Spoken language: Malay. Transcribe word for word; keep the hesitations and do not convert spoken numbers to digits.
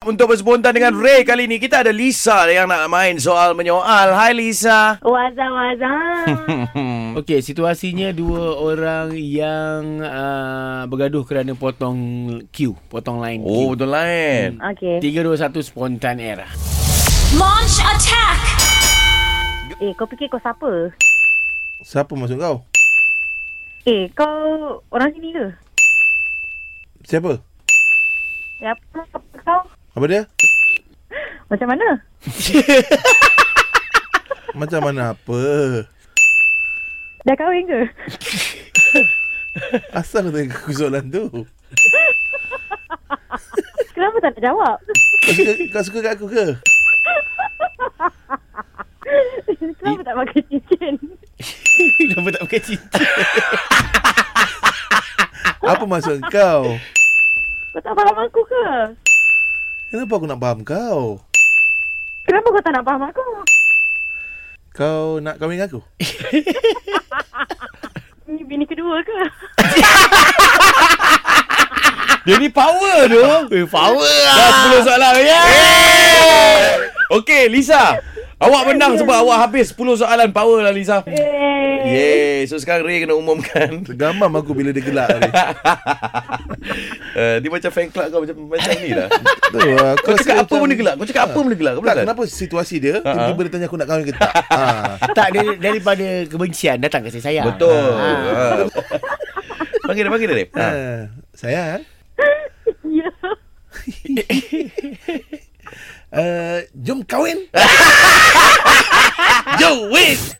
untuk berspontan dengan Ray. Kali ni kita ada Lisa yang nak main soal menyoal. Hai Lisa. Wazam, wazam. Okey, situasinya dua orang yang uh, bergaduh kerana potong queue, potong line queue. Oh, betul lain. Okey. tiga, dua, satu, spontan era. Launch attack! Eh, kau fikir kau siapa? Siapa masuk kau? Eh, kau orang sini ke? Siapa? Ya, apa, apa kau? Apa dia? Macam mana? Macam mana apa? Dah kahwin ke? Asal kau tanya aku soalan tu? Kenapa tak nak jawab? Kau suka, kau suka kat aku ke? Kenapa tak pakai cincin? Kenapa tak pakai cincin? Apa maksud kau? Kau tak faham aku ke? Kenapa aku nak faham kau? Kenapa kau tak nak faham aku? Kau nak kahwin dengan aku? Ni bini kedua ke? Dia ni power tu. Eh, power lah. Dah sepuluh soalan. Yeah! Okey Lisa, awak menang sebab awak habis sepuluh soalan. Power lah Lisa. Eh. Yeay. So sekarang Ray kena umumkan. Tergamam aku bila dia gelak tadi. uh, Dia macam fan club kau. Macam, macam ni lah. Tu, aku Kau rasa cakap apa macam- benda gelak? Kau cakap apa benda gelak? Kau Tak, betul? kenapa situasi dia Ha-ha. tiba-tiba dia tanya aku nak kahwin ke tak? Ha. Tak, dari, daripada kebencian datang kasih sayang. Betul. Ha. Ha. Panggil dia, panggil dia. Rip. Ha. Ha. Sayang, Ya. uh, jom kahwin. Yo, wait.